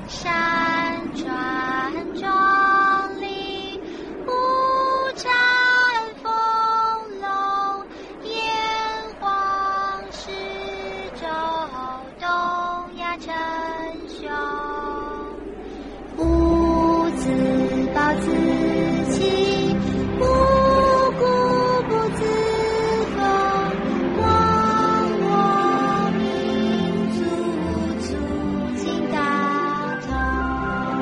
山川壮丽，五展丰隆，炎黄始周，东亚称雄。吾自暴自弃，无故不自封。忘我民族，促进大同。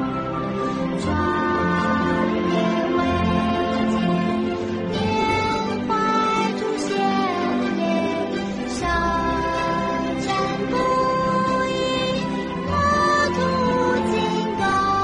壮烈伟健，缅怀祖先烈，舌战不已，国土进攻。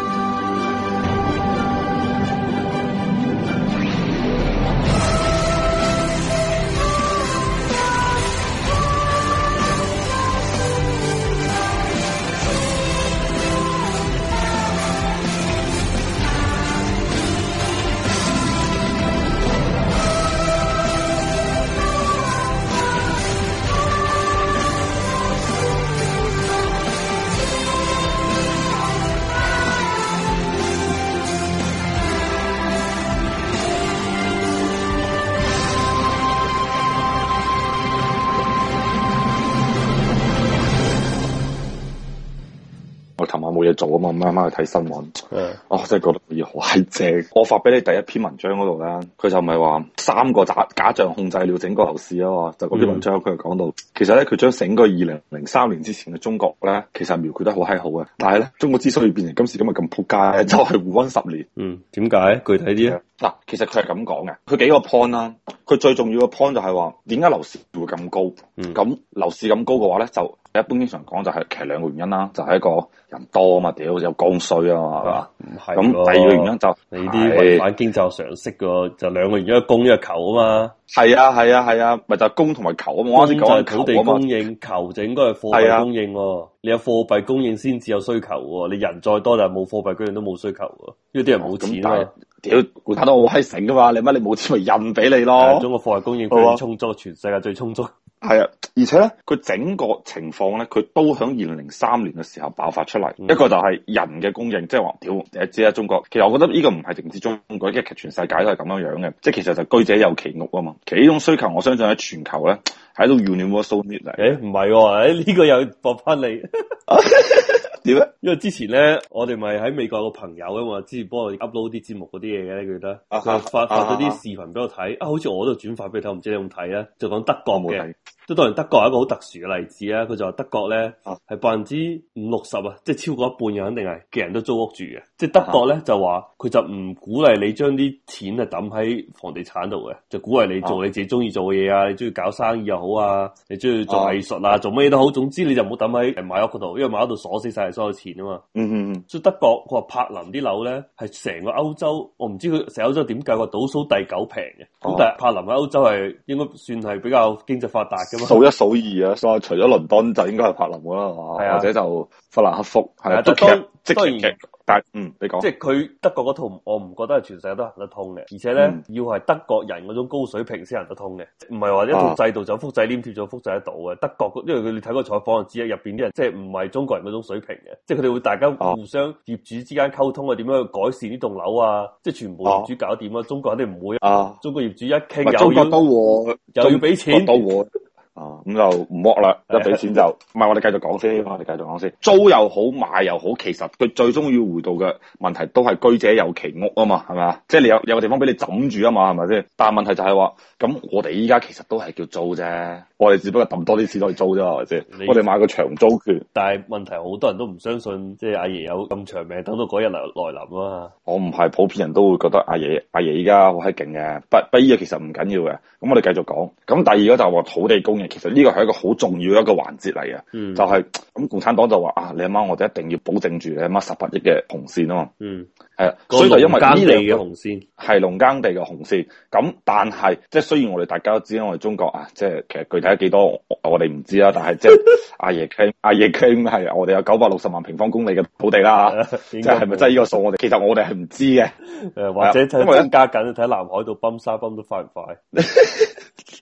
我琴晚冇嘢做啊嘛，咁啱啱去睇新聞，我真係覺得嘢好閪正。我發俾你第一篇文章嗰度咧，佢就唔係話3個假象控制了整個樓市啊嘛，就嗰篇文章佢就講到，其實咧佢將整個2003年之前嘅中國咧，其實描繪得好閪好嘅。但係咧，中國之所以變成今時今日咁撲街，就係胡溫10年。 點解？具體啲啊？ 嗱，其實佢係咁講嘅，佢幾個 point 啦。佢最重要嘅 point 就係話，點解樓市會咁高？咁樓市咁高嘅話咧，就一般經常講就係其實2個原因啦，就係一個人多啊嘛，屌有剛需啊嘛，係嘛？ 唔係。 咁第二個原因就你啲違反經濟常識嘅，就2個原因，一個供一個求啊嘛。 係啊，咪就係供同埋求啊嘛。我啱先講土地供應，求就應該係貨幣供應喎。你有貨幣供應先至有需求喎。你人再多就冇貨幣供應都冇需求喎。因為啲人冇錢啊嘛。 屌，估睇到我閪醒噶嘛？你乜你冇錢咪印俾你咯？ 中國貨幣供應最充足，全世界最充足。 係啊，而且咧，佢整個情況咧，佢都響2003年嘅時候爆發出嚟。一個就係人嘅供應，即係話屌，你知啦，中國其實我覺得呢個唔係淨止中國，其實全世界都係咁樣樣嘅。即係其實就居者有其屋啊嘛。其實呢種需求，我相信喺全球咧喺度 universal need 嚟。 唔係喎，呢個又駁翻你。 點咧？ 因為之前咧，我哋咪喺美國有個朋友啊嘛，之前幫我 upload 啲節目嗰啲嘢嘅，記得佢發咗啲視頻俾我睇，好似我都轉發俾你睇，唔知你有冇睇啊？就講德國嘅，都當然德國係一個好特殊嘅例子啊。佢就話德國咧係50%-60%啊，即係超過一半嘅肯定係嘅人都租屋住嘅。即係德國咧就話佢就唔鼓勵你將啲錢啊抌喺房地產度嘅，就鼓勵你做你自己中意做嘅嘢啊，你中意搞生意又好啊，你中意做藝術啊，做乜嘢都好，總之你就唔好抌喺買屋嗰度，因為買屋度鎖死晒所有錢啊嘛。所以德國佢話柏林啲樓咧係成個歐洲，我唔知佢成歐洲點計，話倒數第9平嘅。咁但係柏林喺歐洲係應該算係比較經濟發達噶嘛， 數一數二啊，所以除咗倫敦就應該係柏林噶啦，係嘛？或者就法蘭克福係啊，當然。但你講， 即係佢德國嗰套，我唔覺得係全世界都行得通嘅，而且咧要係德國人嗰種高水平先行得通嘅，唔係話一套制度就複製黏貼咗複製得到嘅。德國因為你睇個採訪就知入邊啲人即係唔係中國人嗰種水平嘅，即係佢哋會大家互相業主之間溝通啊，點樣去改善呢棟樓啊，即係全部業主搞掂啊。中國肯定唔會啊，中國業主一傾又要俾錢。 咁就唔剝啦，一俾錢就唔係。我哋繼續講先，租又好，買又好，其實佢最終要回到嘅問題都係居者有其屋啊嘛，係咪啊？即係你有個地方俾你枕住啊嘛，係咪先？但係問題就係話，咁我哋依家其實都係叫租啫，我哋只不過抌多啲錢去租啫，係咪先？我哋買個長租權。但係問題好多人都唔相信，即係阿爺有咁長命，等到嗰日來臨啊嘛。 我唔係普遍人都會覺得阿爺依家好閪勁嘅，不依個其實唔緊要嘅。咁我哋繼續講。咁第二個就係話土地供應，其實呢個係一個好重要一個環節嚟嘅，就係咁共產黨就話啊，你阿媽我哋一定要保證住你阿媽18億嘅紅線啊嘛，係啊，所以就因為呢兩嘅紅線係農耕地嘅紅線，咁但係即係雖然我哋大家都知我哋中國啊，即係其實具體幾多我哋唔知啦，但係即係阿爺傾係我哋有960萬平方公里嘅土地啦，即係咪真係呢個數？我哋其實我哋係唔知嘅， 或者睇增加緊，睇南海度泵沙泵得快唔快？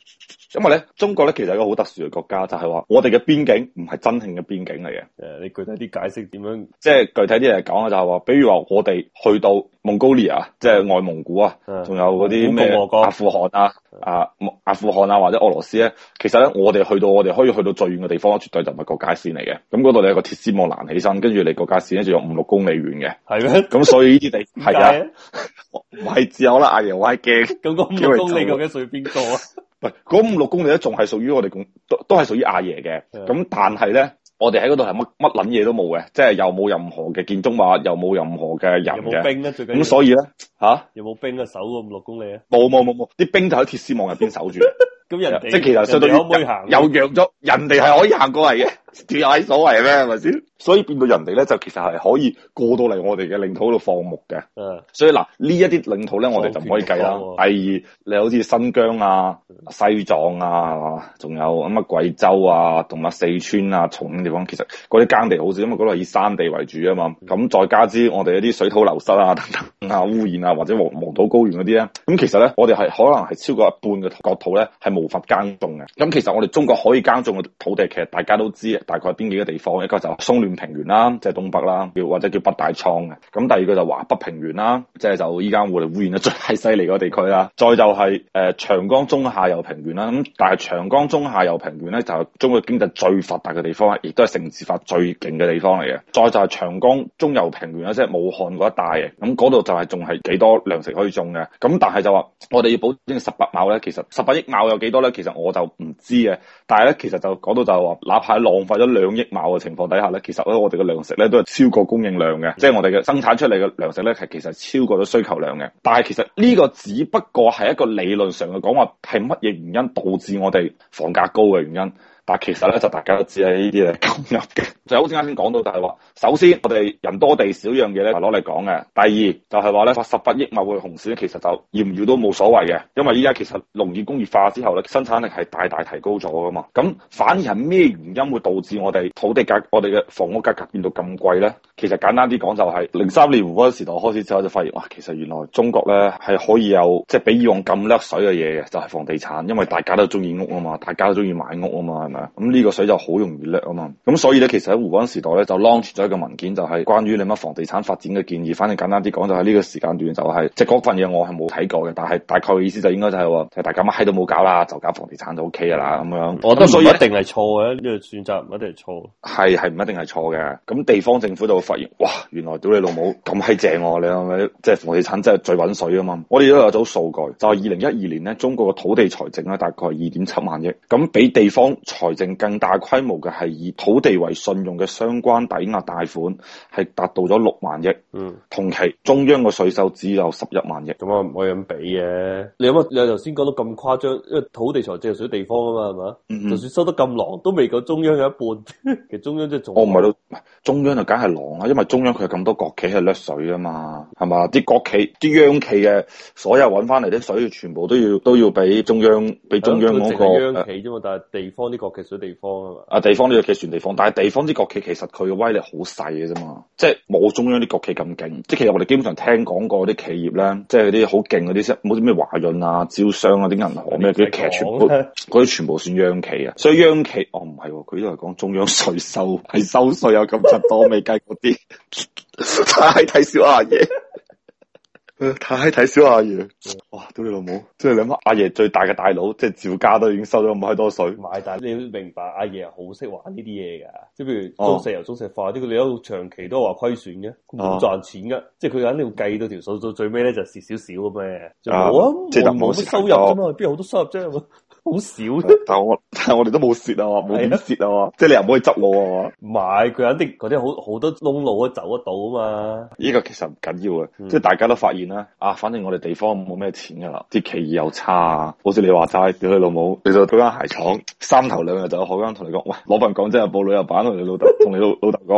因為咧中國咧其實係一個好特殊嘅國家，就係話我哋嘅邊境唔係真正嘅邊境嚟嘅。 你具體啲解釋點樣？ 即係具體啲嚟講啊，就係話，比如話我哋去到蒙古利亞，即係外蒙古啊，仲有嗰啲咩阿富汗啊、阿富汗啊或者俄羅斯咧，其實咧我哋可以去到最遠嘅地方，絕對就唔係國家線嚟嘅。咁嗰度你有個鐵絲網攔起身，跟住你國家線咧就有5-6公里遠嘅。係咩？咁所以呢啲地係啊，唔係只有啦，阿爺我係驚。 咁嗰5-6公里究竟屬於邊個啊？ 唔係嗰5-6公里咧，仲係屬於我哋都係屬於阿爺嘅。咁但係咧。我哋喺嗰度係乜撚嘢都冇嘅，即係又冇任何嘅建築物，又冇任何嘅人嘅。 有冇兵咧？最緊要。 咁所以咧， 有冇兵啊？守嗰5-6公里啊？ 冇，啲兵就喺鐵絲網入邊守住。 咁人哋即係其實相當於可唔可以行？ 又讓咗人哋係可以行過嚟嘅，仲有閪所謂咩？係咪先？所以變到人哋咧就其實係可以過到嚟我哋嘅領土度放牧嘅。所以嗱呢一啲領土咧，我哋就唔可以計啦。第二，你好似新疆啊、西藏啊，係嘛？仲有乜貴州啊，同埋四川啊、重慶地方，其實嗰啲耕地好少，因為嗰度係以山地為主啊嘛。咁再加之我哋一啲水土流失啊、等等啊、污染啊，或者黃土高原嗰啲咧，咁其實咧我哋係可能係超過一半嘅國土咧係無法耕種嘅。咁其實我哋中國可以耕種嘅土地，其實大家都知，大概係邊幾個地方？一個就松嫩平原啦，即係東北啦，或者叫北大倉嘅。咁第二個就華北平原啦，即係就依家我哋污染得最係犀利嗰個地區啦。再就係長江中下游平原啦。咁但係長江中下游平原咧就係中國經濟最發達嘅地方，亦都係城市化最勁嘅地方嚟嘅。再就係長江中游平原啦，即係武漢嗰一帶嘅。咁嗰度就係仲係幾多糧食可以種嘅。咁但係就話我哋要保證18畝咧，其實18億畝有幾多咧？其實我就唔知嘅。但係咧，其實就講到就係話，哪怕浪費咗2億畝嘅情況底下咧，其實咧我哋嘅糧食咧都係超過供應量嘅，即係我哋嘅生產出嚟嘅糧食咧係其實超過咗需求量嘅。但係其實呢個只不過係一個理論上嘅講話，係乜嘢原因導致我哋房價高嘅原因？但係其實咧就大家都知係呢啲係咁入嘅，就好似啱先講到就係話，首先我哋人多地少樣嘢咧係攞嚟講嘅。第二就係話咧，18億畝嘅紅線其實就要唔要都冇所謂嘅，因為依家其實農業工業化之後咧，生產力係大大提高咗噶嘛。咁反而係咩原因會導致我哋土地價、我哋嘅房屋價格變到咁貴咧？其實簡單啲講就係03年胡溫時代開始之後就發現，哇，其實原來中國咧係可以有即係比以往咁掠水嘅嘢嘅，就係房地產，因為大家都中意屋啊嘛，大家都中意買屋啊嘛，係咪？咁呢個水就好容易掠啊嘛，咁所以咧，其實喺胡溫時代咧就 launch 咗一個文件，就係關於你乜房地產發展嘅建議。反正簡單啲講，就係呢個時間段就係即係嗰份嘢我係冇睇過嘅，但係大概嘅意思就應該就係話，大家乜閪都冇搞啦，就搞房地產就 OK 噶啦咁樣。 我覺得所以一定係錯嘅，呢個選擇唔一定係錯。 係唔一定係錯嘅。咁地方政府就會發現，哇，原來屌你老母咁閪正喎！你係咪即係房地產真係最揾水啊嘛？我哋都有組數據，就係2012年咧，中國嘅土地財政咧大概係2.7萬億，咁比地方財政更大規模嘅係以土地為信用嘅相關抵押貸款係達到咗6萬億。同期中央嘅稅收只有11萬億。 咁啊唔可以咁比嘅。你諗下，你頭先講到咁誇張，因為土地財政係屬於地方啊嘛，係嘛？就算收得咁狼，都未夠中央嘅一半。其實中央即係仲唔係咯？中央就梗係狼啦，因為中央佢有咁多國企係掠水啊嘛，係嘛？啲國企、啲央企嘅所有揾翻嚟啲水，全部都要俾中央嗰個央企啫嘛，但係地方啲國企屬於地方啊嘛。 地方啲國企算地方，但係地方啲國企其實佢嘅威力好細嘅啫嘛，即係冇中央啲國企咁勁。即係其實我哋基本上聽講過啲企業咧，即係啲好勁嗰啲，冇啲咩華潤啊、招商啊、啲銀行咩，嗰啲其實嗰啲全部算央企啊。所以央企唔係，佢都係講中央稅收係收稅有咁柒多，未計嗰啲，太睇小阿爺。太睇小阿爺，哇！屌你老母，即係你諗下，阿爺最大嘅大佬，即係趙家都已經收咗咁閪多稅。 唔係，但係你要明白，阿爺好識玩呢啲嘢噶，即係譬如中石油、中石化啲，佢哋一路長期都話虧損嘅，冇賺錢噶，即係佢肯定要計到條數，到最尾咧就蝕少少咁嘅，就冇啊，即係冇乜收入啫嘛，邊有好多收入啫？好少， 但係我哋都冇蝕啊，冇點蝕啊，即係你又唔可以執我啊。 唔係，佢肯定嗰啲好多窿路都走得到啊嘛。 呢個其實唔緊要嘅，即係大家都發現啦。反正我哋地方冇咩錢噶啦，啲企業又差啊。好似你話齋，屌你老母，你就到間鞋廠，3頭2日就有學生同你講，喂，攞份講真日報旅遊版同你老豆，同你老豆講，喂，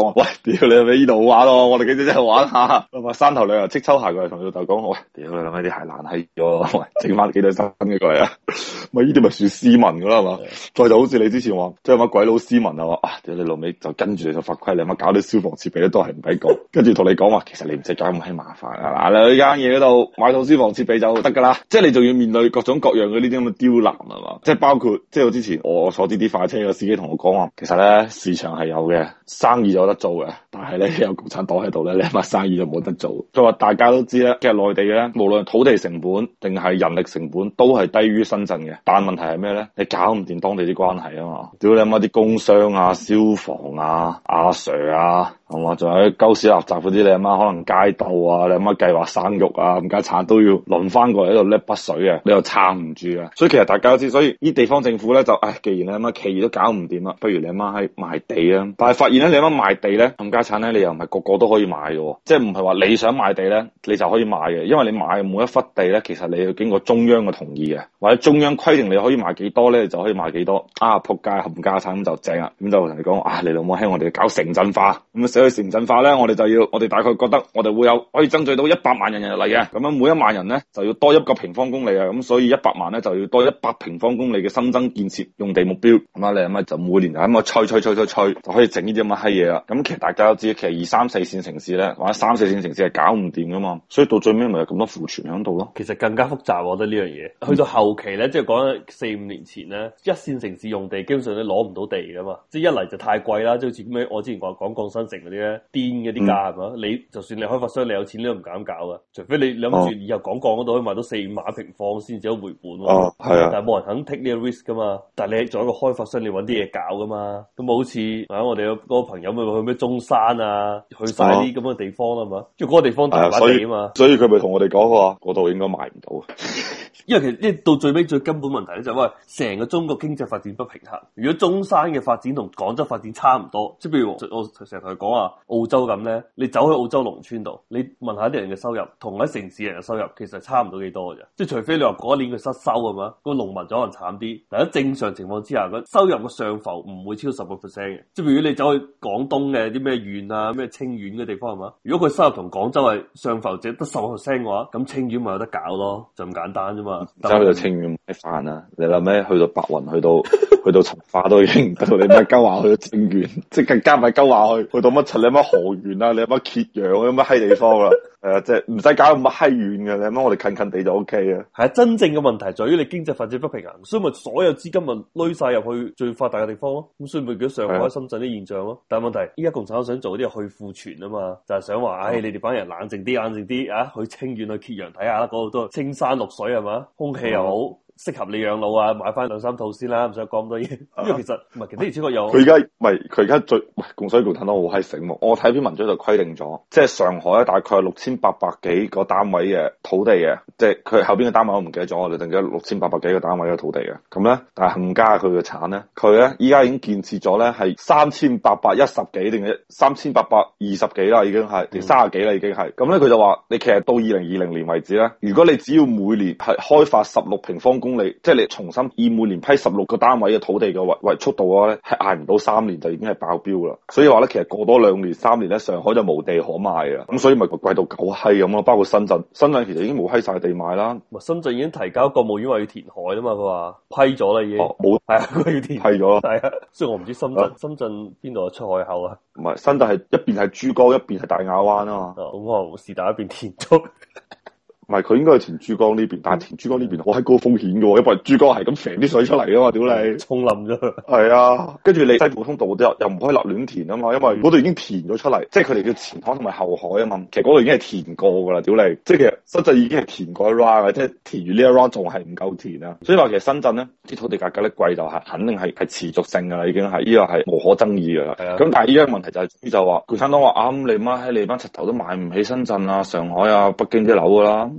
屌你咪呢度好玩咯，我哋幾隻真係玩下。話山頭兩日即抽鞋過嚟同老豆講，喂，屌你諗啲鞋爛閪咗，喂，整翻幾對新嘅過嚟啊！咪呢啲咪算斯文噶啦係嘛？再就好似你之前話，即係乜鬼佬斯文啊話，屌你老味就跟住你就法規，你乜搞啲消防設備咧都係唔俾講，跟住同你講話，其實你唔使搞咁閪麻煩啊！嗱，你去間嘢嗰度買套消防設備就得噶啦，即係你仲要面對各種各樣嘅呢啲咁嘅刁難係嘛？即係包括即係我之前我坐滴快車嘅司機同我講話，其實咧市場係有嘅，生意就有得做嘅，但係咧有共產黨喺度咧，你乜生意就冇得做。佢話大家都知咧，其實內地咧無論土地成本定係人力成本都係低於深圳嘅，但問題係咩咧？你搞唔掂當地啲關係啊嘛，屌你媽啲工商啊、消防啊、阿 Sir 啊，係嘛？仲有啲鳩屎垃圾嗰啲，你阿媽可能街鬥啊，你阿媽計劃生育啊，冚家鏟都要輪翻過嚟喺度叻筆水啊，你又撐唔住啊。所以其實大家都知，所以呢地方政府咧就，既然你阿媽企業都搞唔掂啦，不如你阿媽喺賣地啊。但係發現咧，你阿媽賣地咧，冚家鏟咧，你又唔係個個都可以買嘅，即係唔係話你想賣地咧，你就可以買嘅，因為你買每一忽地咧，其實你要經過中央嘅同意嘅，或者中央規定你可以賣幾多咧，你就可以賣幾多。仆街冚家鏟咁就正啦，咁就同你講，你老母喺我哋搞城鎮化，咁寫去城鎮化咧，我哋大概覺得我哋會有可以爭取到100萬人入嚟嘅，咁樣每1萬人咧就要多1個平方公里啊，咁所以100萬咧就要多100平方公里嘅新增建設用地目標，咁啊你咁啊就每年就咁啊吹就可以整呢啲咁嘅閪嘢啦。咁其實大家都知，其實2、3、4線城市咧，或者3、4線城市係搞唔掂噶嘛，所以到最尾咪有咁多庫存喺度咯。 其實更加複雜，我覺得呢樣嘢去到後期咧，即係講4、5年前咧，1線城市用地基本上都攞唔到地噶嘛，即係一嚟就太貴啦，即係好似咩我之前講鋼新城嗰啲咧，癲嗰啲價係嘛，你就算你開發商你有錢你都唔敢搞噶，除非你諗住以後講鋼嗰度可以賣到4、5萬平方先至有回本喎。係啊，但係冇人肯 take 呢個 risk 噶嘛。但係你作為一個開發商，你揾啲嘢搞噶嘛，咁好似我哋嗰個朋友咪去咩中山啊，去晒啲咁嘅地方啦嘛，即係嗰個地方大把地啊嘛， 所以佢咪同我哋講話嗰度應該賣唔到。 因為其實到最尾最根本問題咧就係話成個中國經濟發展不平衡。如果中山嘅發展同廣州發展差唔多，即係譬如我成日同佢講話澳洲咁咧，你走去澳洲農村度，你問下啲人嘅收入同喺城市人嘅收入其實差唔到幾多嘅啫。即係除非你話嗰一年佢失收係嘛，個農民就可能慘啲。但喺正常情況之下，個收入嘅上浮唔會超過10%嘅。即係譬如你走去廣東嘅啲咩縣啊、咩清遠嘅地方係嘛，如果佢收入同廣州係上浮只得10%嘅話，咁清遠咪有得搞咯，就咁簡單啫嘛。 走去到清遠買飯啊！你諗咩？去到白雲，去到從化都已經唔得到，你乜鳩話去到清遠，即係更加唔係鳩話去到乜柒？你乜河源啊？你乜揭陽啊？乜閪地方啊？即係唔使搞咁乜閪遠嘅，你諗我哋近近地就 O K 啊。係啊， 真正嘅問題在於你經濟發展不平衡，所以咪所有資金咪攏晒入去最發達嘅地方咯。咁所以咪叫上海、深圳啲現象咯。但係問題依家共產黨想做啲係去庫存啊嘛，就係想話，你哋班人冷靜啲啊，去清遠去揭陽睇下啦，嗰度都青山綠水係嘛，空氣又好。適合你養老啊，買翻2、3套先啦，唔使講咁多嘢。因為其實唔係，其實而且確有。 佢而家最共產黨好閪醒目。我睇篇文章就規定咗，即係上海大概6800幾個單位嘅土地嘅，即係佢後邊嘅單位我唔記得咗，我哋定咗6800幾個單位嘅土地嘅。咁咧，但係恒嘉佢嘅產咧，佢咧依家已經建設咗咧係3810幾定係3820幾啦，已經係定30幾啦，已經係。咁咧佢就話，你其實到2020年為止咧，如果你只要每年係開發16平方公里，即係你重新以每年批16個單位嘅土地嘅為速度嘅話咧，係捱唔到3年就已經係爆標啦。所以話咧，其實過多2年3年咧，上海就無地可賣啊。咁所以咪貴到狗閪咁咯。包括深圳其實已經冇閪晒地賣啦。 深圳已經提交國務院話要填海啦嘛，佢話批咗啦已經。冇係啊，佢要填批咗啦。 係啊，所以我唔知深圳邊度出海口啊？ 唔係，深圳係一邊係珠江，一邊係大亞灣啊嘛。 咁我是但一邊填咗。 唔係，佢應該係填珠江呢邊，但係填珠江呢邊好閪高風險嘅喎，因為珠江係咁揈啲水出嚟啊嘛，屌你， 沖冧咗。 係啊，跟住你西部通道又唔可以立亂填啊嘛，因為嗰度已經填咗出嚟，即係佢哋叫前海同埋後海啊嘛，其實嗰度已經係填過㗎啦，屌你，即係其實深圳已經係填過一 round 嘅，即係填完呢一 round 仲係唔夠填啊，所以話其實深圳咧啲土地價格咧貴就係肯定係持續性㗎啦，已經係呢個係無可爭議㗎啦。咁但係依家問題就話共產黨話你班柒頭都買唔起深圳啊、上海啊、北京啲樓㗎啦。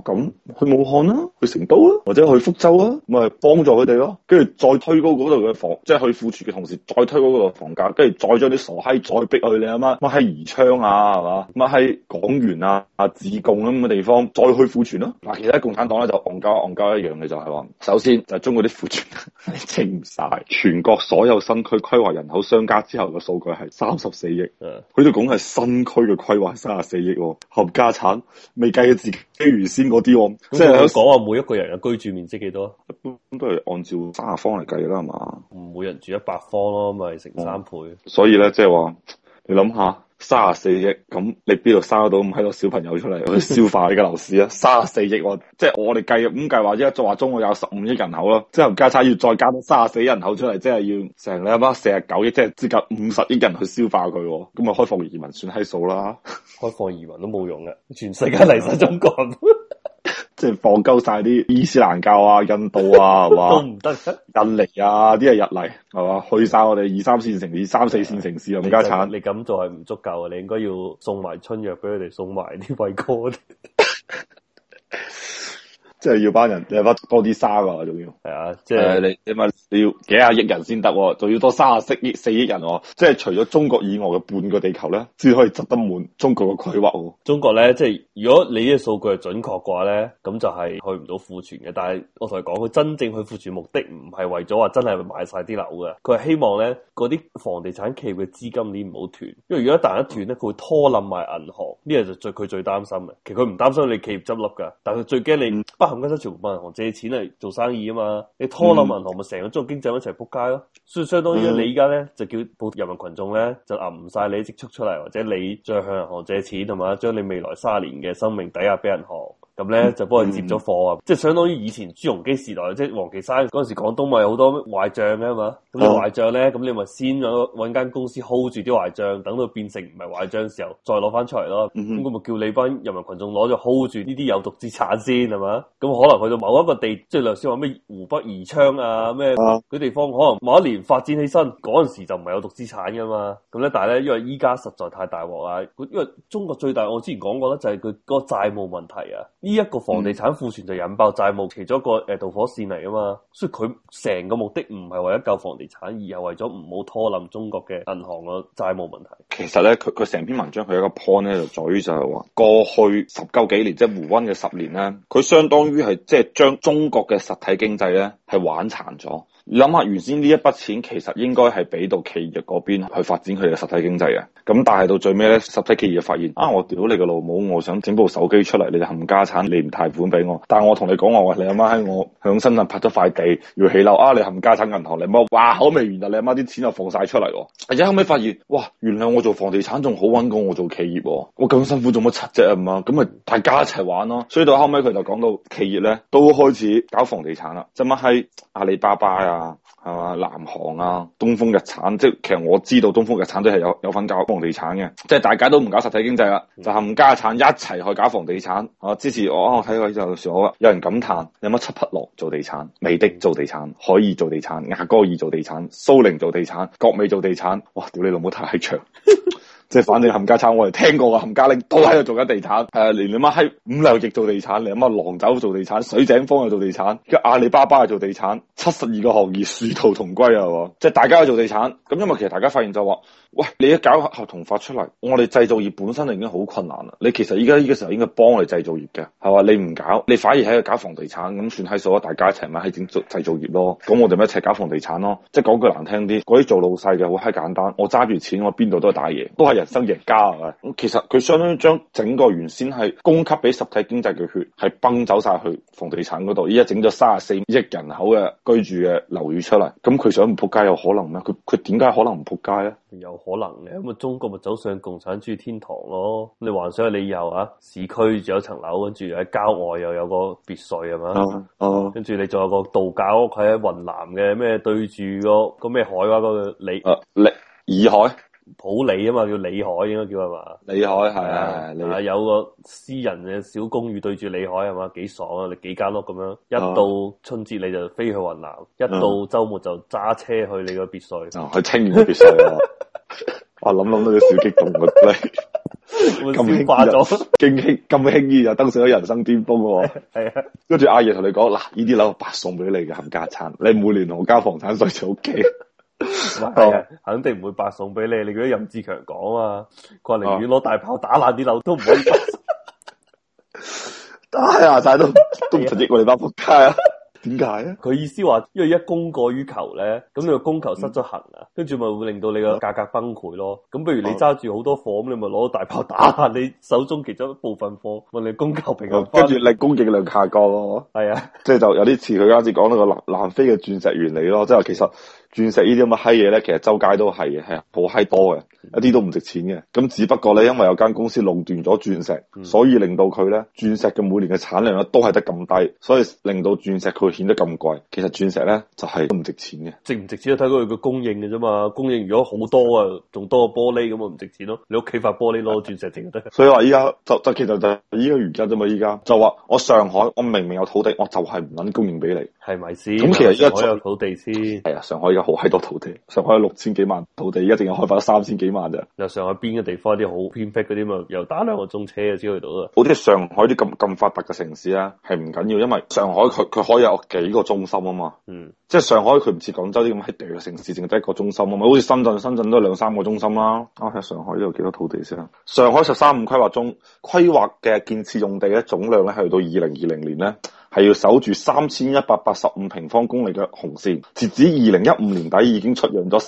咁去武漢啦，去成都啦，或者去福州啦，咪幫助佢哋咯。跟住再推高嗰度嘅房，即係去庫存嘅同時，再推高嗰度房價，跟住再將啲傻閪再逼去你阿媽乜喺宜昌啊，係嘛？乜喺廣元啊、自貢咁嘅地方再去庫存咯。嗱，其實共產黨咧就戇鳩一樣嘅就係話，首先就係中國啲庫存清唔晒，全國所有新區規劃人口相加之後嘅數據係34億，佢哋講係新區嘅規劃34億，冚家產未計自己原先嗰啲， 即係佢講話每一個人嘅居住面積幾多？ 一般都係按照30方嚟計啦，係嘛？ 每人住100方咯，咪乘3倍。 所以咧，即係話你諗下，34億咁，你邊度生得到咁喺個小朋友出嚟去消化呢個樓市啊？34億，即係我哋計咁計話，再話中國有15億人口咯，之後加差要再加多34億人口出嚟，即係要成你阿媽49億，即係接近50億人去消化佢，咁咪開放移民算閪數啦？開放移民都冇用嘅，全世界嚟晒中國。 即係放鳩晒啲伊斯蘭教啊、印度啊，係嘛都唔得， 印尼啊啲係日嚟，係嘛？去晒我哋2、3線城市、3、4線城市冚家產。 你咁做係唔足夠啊！你應該要送埋春藥俾佢哋，送埋啲偉哥。 即係要班人，你有翻多啲沙噶，仲要係啊！即係你要幾廿億人先得，仲要多34億人，即係除咗中國以外嘅半個地球咧，先可以執得滿中國嘅規劃。 中國咧，即係如果你嘅數據係準確嘅話咧，咁就係去唔到庫存嘅。但係我同你講，佢真正去庫存目的唔係為咗話真係賣晒啲樓嘅，佢係希望咧嗰啲房地產企業嘅資金鏈唔好斷，因為如果一旦一斷咧，佢會拖冧埋銀行，呢個就佢最擔心嘅。其實佢唔擔心你企業執笠噶，但係佢最驚你冚家鏟全部問銀行借錢嚟做生意啊嘛，你拖冧銀行咪成個中國經濟一齊扑街咯。所以相當於你而家咧就叫人民群眾咧就揞唔晒你積蓄出嚟，或者你再向銀行借錢同埋將你未來30年嘅生命抵押俾銀行。咁咧就幫佢接咗貨啊！即係相當於以前朱鎔基時代，即係王岐山嗰陣時，廣東咪好多壞賬嘅嘛。咁你壞賬咧，咁你咪先搵間公司 hold 住啲壞賬，等到變成唔係壞賬嘅時候，再攞翻出嚟咯。咁我咪叫你班人民群眾攞咗 hold 住呢啲有毒資產先係嘛？咁可能去到某一個地，即係例如話咩湖北宜昌啊咩嗰地方，可能某一年發展起身，嗰陣時就唔係有毒資產噶嘛。咁咧，但係咧因為依家實在太大鑊啦，因為中國最大我之前講過咧就係佢嗰個債務問題啊。呢一個房地產庫存就引爆債務其中一個導火線嚟啊嘛，所以佢成個目的唔係為咗救房地產，而係為咗唔好拖冧中國嘅銀行個債務問題。 其實咧，佢成篇文章佢有一個 point 咧，就在於就係話過去10幾年，即係胡溫嘅10年咧，佢相當於係即係將中國嘅實體經濟咧係玩殘咗。你諗下，原先呢一筆錢其實應該係俾到企業嗰邊去發展佢哋嘅實體經濟嘅，咁但係到最尾咧，實體企業發現我屌你個老母，我想整部手機出嚟，你就冚家產，你唔貸款俾我，但係我同你講話，你阿媽喺我響深圳拍咗塊地要起樓你冚家產銀行，你媽哇口未完啊，你阿媽啲錢就放晒出嚟，而且後尾發現哇，原來我做房地產仲好搵過我做企業，我咁辛苦做乜柒啫嘛，咁咪大家一齊玩咯，所以到後尾佢就講到企業咧都開始搞房地產啦，就乜係阿里巴巴啊，係嘛，南航啊，東風日產，即係其實我知道東風日產都係有份搞房地產嘅，即係大家都唔搞實體經濟啦，就冚家產一齊去搞房地產。之前我睇過就時候有人感嘆，有乜七匹狼做地產，美的做地產，海爾做地產，雅戈爾做地產，蘇寧做地產，國美做地產，哇！屌你老母太長。即係反正冚家產，我哋聽過嘅冚家拎都喺度做緊地產，連你媽喺500億做地產，你媽狼走做地產，水井坊又做地產，跟阿里巴巴又做地產，72個行業殊途同歸啊！即係大家去做地產，咁因為其實大家發現就話，喂，你一搞合同發出嚟，我哋製造業本身就已經好困難啦。你其實依家呢個時候應該幫我哋製造業嘅，係嘛？你唔搞，你反而喺度搞房地產，咁算係數啊！大家一齊咪喺整製造業咯。咁我哋咪一齊搞房地產咯。即係講句難聽啲，嗰啲做老細嘅好閪簡單，我揸住錢，我邊度都係打嘢，都係人生贏家啊！咁其實佢相當於將整個原先係供給俾實體經濟嘅血，係崩走晒去房地產嗰度。依家整咗34億人口嘅居住嘅樓宇出嚟，咁佢想唔撲街有可能咩？佢點解可能唔撲街咧？ 有可能嘅，咁啊中國咪走上共產主義天堂咯。你幻想你以後市區住有層樓，跟住喺郊外又有個別墅係嘛？跟住你仲有個度假屋喺雲南嘅咩對住個咩海話嗰個洱海。普洱啊嘛，叫洱海應該叫係嘛？洱海係有個私人嘅小公寓對住洱海係嘛？幾爽啊！你幾間屋咁樣，一到春節你就飛去雲南，一到周末就揸車去你個別墅。 去清遠嘅別墅啊！我諗到啲小激動嘅消化咗， 咁輕易就登上咗人生巔峰喎。 係啊， 跟住阿爺同你講嗱，呢啲樓白送俾你嘅冚家產，你每年同我交房產稅就 OK。 係啊，肯定唔會白送俾你。你記得任志強講啊，佢話寧願攞大炮打爛啲樓都唔可以白送。 打下晒都唔實益我哋班仆街啊！點解啊？ 佢意思話，因為一供過於求咧，咁你個供求失咗衡啊，跟住咪會令到你個價格崩潰咯。咁不如你揸住好多貨，咁你咪攞大炮打下你手中其中一部分貨，問你供求平衡， 跟住你供應量下降咯。係啊，即係就有啲似佢啱先講到個南非嘅鑽石原理咯，即係其實鑽石呢啲咁嘅閪嘢咧，其實周街都係嘅，係好閪多嘅，一啲都唔值錢嘅。咁只不過咧，因為有間公司壟斷咗鑽石，所以令到佢咧鑽石嘅每年嘅產量咧都係得咁低，所以令到鑽石佢顯得咁貴。其實鑽石咧就係都唔值錢嘅，值唔值錢都睇佢個供應嘅啫嘛。供應如果好多啊，仲多過玻璃咁啊，唔值錢咯。你屋企塊玻璃攞鑽石整就得。所以話依家就其實就係依個原因啫嘛。依家就話我上海，我明明有土地，我就係唔撚供應俾你，係咪先？咁其實依家有土地先係啊，上海而家好閪多土地，上海有6000幾萬土地，而家淨係開發咗3000幾萬咋。又上海邊嘅地方啲好偏僻嗰啲嘛，又打2個鐘車就先去到啦。好似上海啲咁發達嘅城市啊，係唔緊要，因為上海佢可以有幾個中心啊嘛。即係上海佢唔似廣州啲咁喺地嘅城市，淨係得一個中心啊嘛。好似深圳都係2-3個中心啦。睇下上海呢度幾多土地先啊？上海13-5規劃中規劃嘅建設用地咧總量咧係去到2020年咧，係要守住3185平方公里嘅紅線，截止2015年底已經出讓咗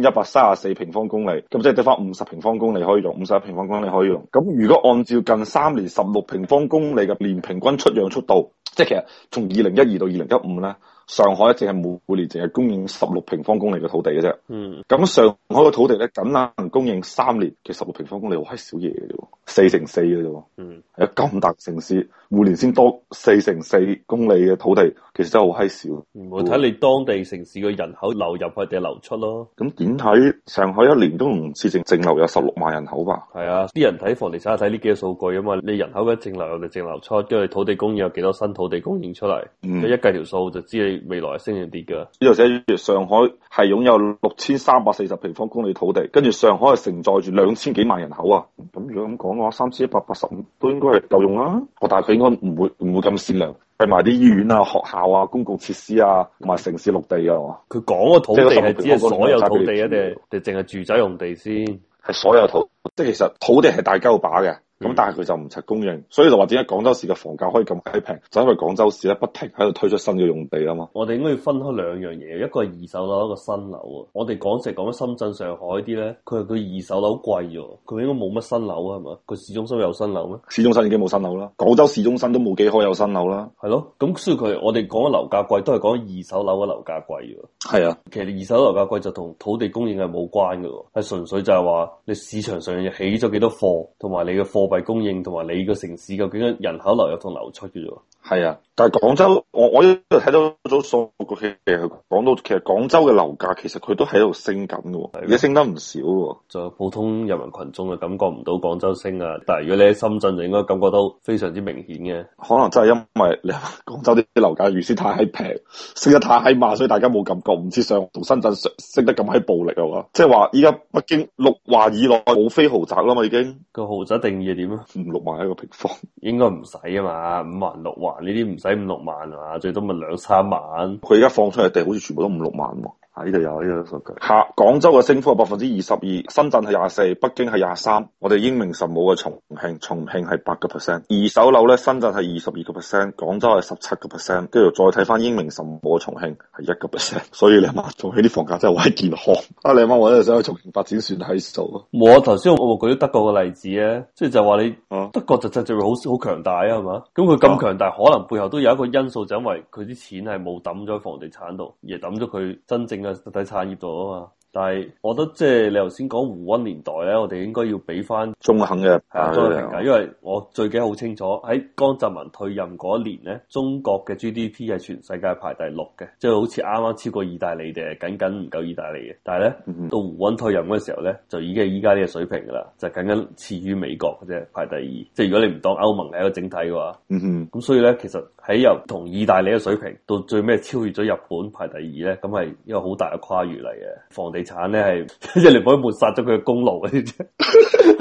3134平方公里，咁即係得翻50平方公里可以用，51平方公里可以用。咁如果按照近3年16平方公里嘅年平均出讓速度，即係其實從2012到2015咧，上海淨係每年淨係供應16平方公里嘅土地嘅啫。咁上海嘅土地咧，僅能供應3年嘅16平方公里，好閪少嘢嘅啫，4×4嘅啫。係啊，咁大城市每年先多4×4公里嘅土地，其實真係好閪少。我睇你當地城市嘅人口流入去定流出咯。咁點睇上海一年都唔似淨流有16萬人口吧？係啊，啲人睇房地產睇呢幾個數據啊嘛，你人口嘅淨流入定淨流出，跟住土地供應有幾多新土地供應出嚟，一計條數就知你未來升定跌噶。呢度寫住上海係擁有6340平方公里土地，跟住上海係承載住2000幾萬人口啊。咁如果咁講嘅話，3185都應該係夠用啦。但係佢應該唔會咁善良，係埋啲醫院啊、學校啊、公共設施啊，同埋城市綠地啊。佢講個土地係指係所有土地啊，定淨係住宅用地先？係所有土，即係其實土地係大鳩把嘅。咁但係佢就唔齊供應，所以就話點解廣州市嘅房價可以咁閪平，就因為廣州市咧不停喺度推出新嘅用地啊嘛。我哋應該要分開兩樣嘢，一個係二手樓，一個新樓啊。我哋講緊深圳、上海啲咧，佢二手樓貴咗，佢應該冇乜新樓啊，係嘛？佢市中心有新樓咩？市中心已經冇新樓啦，廣州市中心都冇幾可有新樓啦。係咯，咁所以我哋講嘅樓價貴，都係講二手樓嘅樓價貴嘅。係啊，其實二手樓價貴就同土地供應係冇關嘅，係純粹就係話你市場上起咗幾多貨，同埋你嘅貨幣供應同埋你個城市究竟人口流入同流出嘅啫。係啊，但係廣州，我一度睇到咗數據，其實講到其實廣州嘅樓價其實佢都喺度升緊嘅，而家升得唔少嘅。就普通人民群眾就感覺唔到廣州升啊，但係如果你喺深圳就應該感覺到非常之明顯嘅。可能真係因為你廣州啲樓價原先太閪平，升得太閪慢，所以大家冇感覺，唔知上同深圳升得咁閪暴力啊嘛。即係話依家北京6環以內冇非豪宅啦嘛，已經個豪宅定義係點啊？5-6萬一個平方，應該唔使啊嘛，5環6環。呢啲唔使5-6萬啊，最多咪2-3萬。佢而家放出嚟地好似全部都5-6萬喎。呢度有呢個數據。廣州嘅升幅係22%，深圳係24%，北京係23%。我哋英明神武嘅重慶係8%。二手樓咧，深圳係22%，廣州係17%，跟住再睇翻英明神武嘅重慶係1%。所以你阿媽做起啲房價真係好健康。你阿媽我真係想去重慶發展算係數啊。我頭先我舉咗德國嘅例子咧，即係就話你德國就會好強大啊，係嘛？咁佢咁強大，可能背後都有一個因素，就因為佢啲錢係冇抌咗喺房地產度，而係抌咗佢真正嘅實體產業度啊嘛。但係我覺得即係你頭先講胡溫年代咧，我哋應該要俾翻中肯嘅評價，因為我最記得好清楚喺江澤民退任嗰一年咧，中國嘅 GDP 係全世界排第6嘅，即係好似啱啱超過意大利定係僅唔夠意大利嘅。但係咧到胡溫退任嗰時候咧，就已經係依家呢個水平噶啦，就僅次於美國嘅啫，排第2。即係如果你唔當歐盟係一個整體嘅話，咁所以咧其實喺由同意大利嘅水平到最尾超越咗日本排第2咧，咁係一個好大嘅跨越嚟嘅。房地產咧係即係你唔可以抹殺咗佢嘅功勞嘅啫。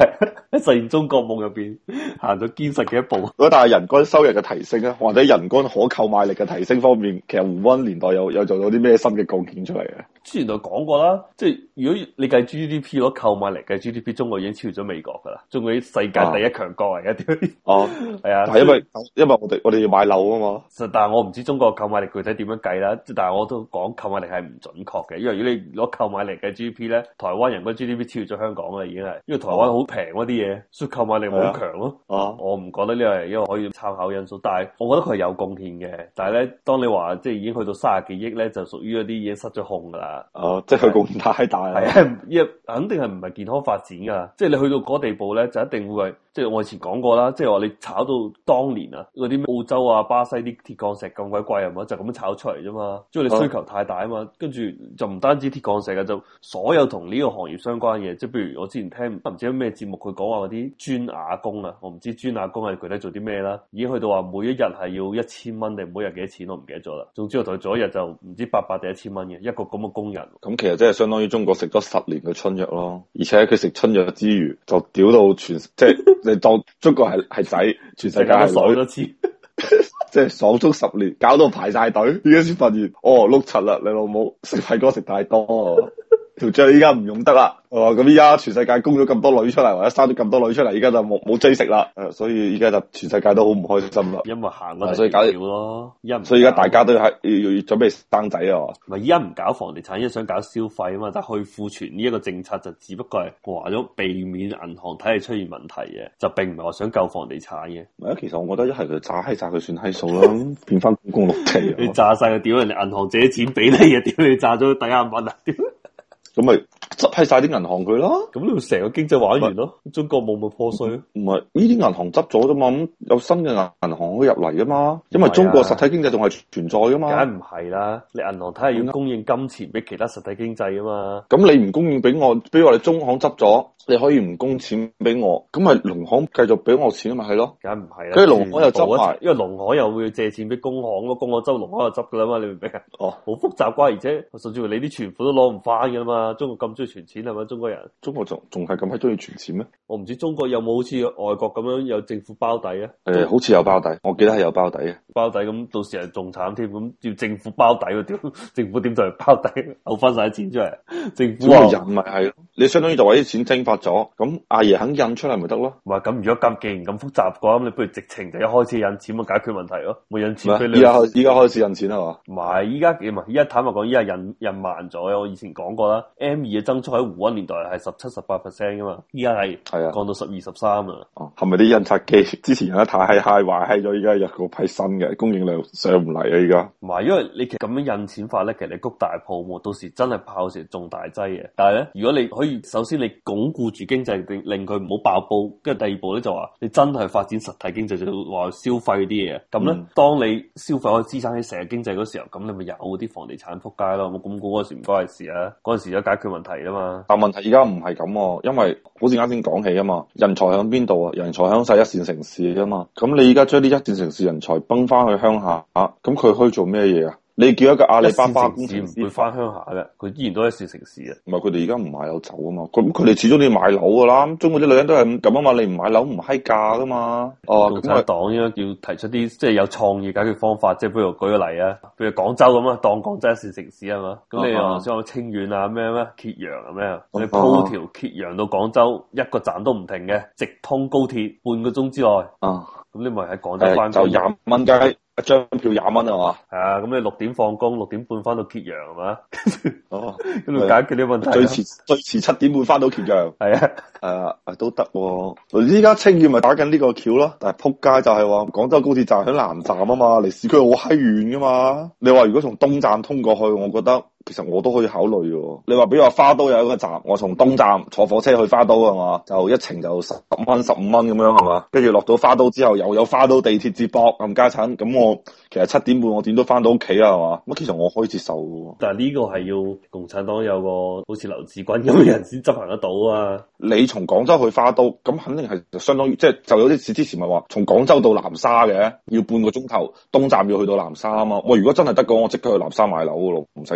喺實現中國夢入邊行咗堅實嘅一步。 如果但係人均收入嘅提升咧，或者人均可購買力嘅提升方面，其實胡溫年代有做到啲咩新嘅貢獻出嚟嘅？ 之前就講過啦，即係如果你計 GDP 攞購買力計 GDP， 中國已經超越咗美國噶啦，中國啲世界第一強國嚟嘅。哦，係啊， 係因為我哋要買樓啊嘛。 實但係我唔知中國購買力具體點樣計啦，但係我都講購買力係唔準確嘅，因為如果你攞購買力嘅 GDP 咧，台灣人均 GDP 超越咗香港啦，已經係，因為台灣好平嗰啲嘢，所以購買力冇咁強咯。我唔覺得呢個係一個可以參考因素，但係我覺得佢係有貢獻嘅。但係咧，當你話即係已經去到30幾億咧，就屬於一啲已經失咗控噶啦。 即係佢貢獻太大啦。 係啊，肯定係唔係健康發展噶，即係你去到嗰地步咧，就一定會係，即係我以前講過啦，即係話你炒到當年啊，嗰啲澳洲啊、巴西啲鐵礦石咁鬼貴係嘛，就咁樣炒出嚟啫嘛，因為你需求太大啊嘛，跟住就唔單止鐵礦石嘅，就所有同呢個行業相關嘅，即係譬如我之前聽唔知咩節目佢講話嗰啲磚瓦工啊，我唔知磚瓦工係具體做啲咩啦，已經去到話每一日係要1000蚊定每日幾多錢我唔記得咗啦，總之我同佢做一日就唔知800定1000蚊嘅一個咁嘅工人。 咁其實即係相當於中國食咗10年嘅春藥咯，而且佢食春藥之餘就屌到即係你當中國係仔，全世界係爽多次， 即係爽足10年，搞到排晒隊，而家先發現碌柒啦，你老母食廢哥食太多，條脹依家唔用得啦。咁依家全世界供咗咁多女出嚟，或者生咗咁多女出嚟，依家就冇追食啦。所以依家就全世界都好唔開心啦。 因為行嗰所以搞少咯， 所以而家大家都要準備生仔啊。 唔係依家唔搞房地產，依家想搞消費啊嘛。但係去庫存呢一個政策就只不過係話咗避免銀行體系出現問題嘅，就並唔係話想救房地產嘅。 唔係，其實我覺得一係佢炸佢算閪數啦，變翻公共綠地。 你炸晒佢，屌人哋銀行借錢俾你啊！屌你炸咗抵押物啊！屌！ 咁咪執閪晒啲銀行佢咯， 咁你成個經濟玩完咯，中國冇咪破碎咯？ 唔係呢啲銀行執咗啫嘛，咁有新嘅銀行可以入嚟噶嘛，因為中國實體經濟仲係存在噶嘛。 梗唔係啦，你銀行睇下要供應金錢俾其他實體經濟啊嘛。 咁你唔供應俾我，比如話你中行執咗，你可以唔供錢俾我，咁咪農行繼續俾我錢咪係咯？ 梗唔係啦， 跟住農行又執埋， 因為農行又會借錢俾工行咯，工行執農行又執噶啦嘛，你明唔明啊？好複雜啩，而且甚至乎你啲存款都攞唔翻噶啦嘛，中國咁中意存錢係咪？中國人， 中國仲係咁閪中意存錢咩？ 我唔知中國有冇好似外國咁樣有政府包底啊？ 好似有包底，我記得係有包底嘅。 包底咁到時係仲慘添，咁要政府包底喎，屌政府點就嚟包底，嘔翻晒啲錢出嚟？政府話印咪係咯，你相當於就話啲錢蒸發咗，咁阿爺肯印出嚟咪得咯？ 唔係咁，如果咁既然咁複雜嘅話，咁你不如直情就一開始印錢咪解決問題咯，冇印錢俾你。 依家開始印錢係嘛？ 唔係，依家坦白講，依家印慢咗。我以前講過啦 ，M2 嘅增速喺胡溫年代係17-18% 噶嘛，依家係降到12-13啊。 係咪啲印刷機之前印得太閪壞閪咗？依家有個批新嘅供應量上唔嚟啊！依家唔係，因為你其實咁樣印錢法咧，其實你谷大泡沫，到時真係爆時中大劑嘅。但係咧，如果你可以首先你鞏固住經濟，令佢唔好爆煲，跟住第二步咧就話你真係發展實體經濟，就話消費啲嘢。咁咧，當你消費可以支撐起成個經濟嗰時候，咁你咪有啲房地產撲街咯。我咁估嗰時唔關係事啊，嗰陣時有解決問題啊嘛。 但問題而家唔係咁，因為好似啱先講起啊嘛，人才響邊度啊？人才響晒一線城市啊嘛。咁你而家將啲一線城市人才崩翻去鄉下，咁佢可以做咩嘢啊？你叫一個阿里巴巴公司唔會翻鄉下嘅，佢依然都係一線城市啊。 唔係佢哋而家唔買樓走啊嘛，咁佢哋始終都要買樓噶啦。中國啲女人都係咁啊嘛，你唔買樓唔閪嫁噶嘛。 共產黨應該要提出啲即係有創意解決方法，即係譬如舉個例啊，譬如廣州咁啊，當廣州一線城市啊嘛。咁你又想講清遠啊咩揭陽啊咩？你鋪條揭陽到廣州一個站都唔停嘅，直通高鐵半個鐘之內。咁你咪喺廣州翻就20蚊雞。一張票20蚊係嘛？ 係啊，咁你6點放工，6點半翻到揭陽係嘛？咁就解決呢個問題。 最遲7點半翻到揭陽。 係都得。依家清遠咪打緊呢個橋咯，但係撲街就係話廣州高鐵站喺南站啊嘛，離市區好閪遠噶嘛。你話如果從東站通過去，我覺得其實我都可以考慮嘅。你話比如話花都有一個站，我從東站坐火車去花都係嘛，就一程就10蚊15蚊咁樣係嘛，跟住落到花都之後又有花都地鐵接駁冚家鏟，咁我其實7點半我點都翻到屋企啊係嘛，咁其實我可以接受嘅。 但係呢個係要共產黨有個好似劉志軍咁嘅人先執行得到啊。 你從廣州去花都，咁肯定係相當於即係就有啲似之前咪話從廣州到南沙嘅，要半個鐘頭，東站要去到南沙啊嘛。我如果真係得嘅，我即刻去南沙買樓嘅咯，唔使傾嘅。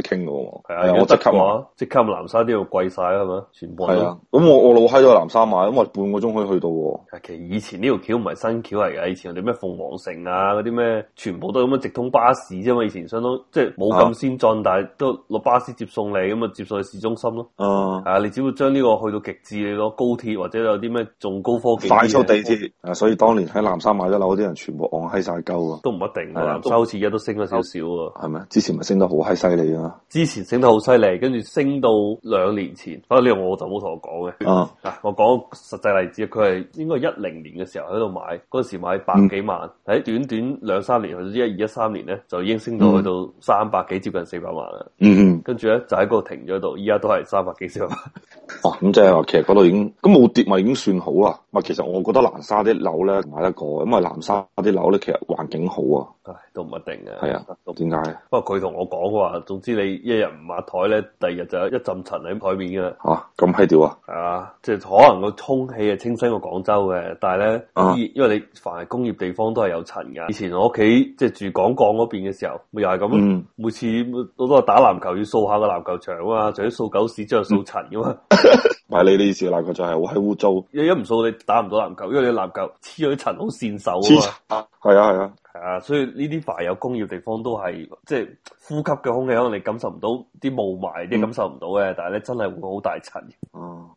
喎。 係啊，我即刻話，即刻南沙啲要貴晒啦，係咪？全部係啊。 咁我老閪咗去南沙買，咁我半個鐘可以去到喎。 其實以前呢條橋唔係新橋嚟嘅，以前我哋咩鳳凰城啊嗰啲咩，全部都係咁嘅直通巴士啫嘛。以前相當即係冇咁先進，但係都攞巴士接送你，咁啊接送去市中心咯。你只要將呢個去到極致，你攞高鐵或者有啲咩仲高科技快速地鐵。所以當年喺南沙買咗樓啲人全部戇閪晒鳩啊。 都唔一定，南沙好似而家都升咗少少喎。 係咪？之前咪升得好閪犀利啊！ 之前升得好犀利，跟住升到2年前。不過呢個我就冇同我講嘅。我講實際例子，佢係應該係2010年嘅時候喺度買，嗰時買100幾萬，喺短短2-3年，去到2012、13年咧，就已經升到去到300幾，接近400萬啦。跟住咧就喺嗰度停咗度，依家都係300幾、400萬。 咁即係話其實嗰度已經咁冇跌，咪已經算好啦。其實我覺得南沙啲樓咧買得過，因為南沙啲樓咧其實環境好啊。 都唔一定嘅。 係啊，點解？ 不過佢同我講話，總之你一日唔抹台咧，第二日就有一陣塵喺台面嘅。 咁閪屌啊！ 係啊，即係可能個空氣係清新過廣州嘅，但係咧，因為你凡係工業地方都係有塵㗎。以前我屋企即係住廣鋼嗰邊嘅時候，咪又係咁。每次我都係打籃球要掃下個籃球場啊嘛，除咗掃狗屎之後掃塵㗎嘛。 唔係你意思籃球場係好閪污糟， 一唔掃你打唔到籃球，因為你籃球黐咗啲塵好跣手啊嘛。係啊，所以呢啲凡有工業地方都係即係呼吸嘅空氣，可能你感受唔到啲霧霾，啲感受唔到嘅，但係咧真係會好大塵。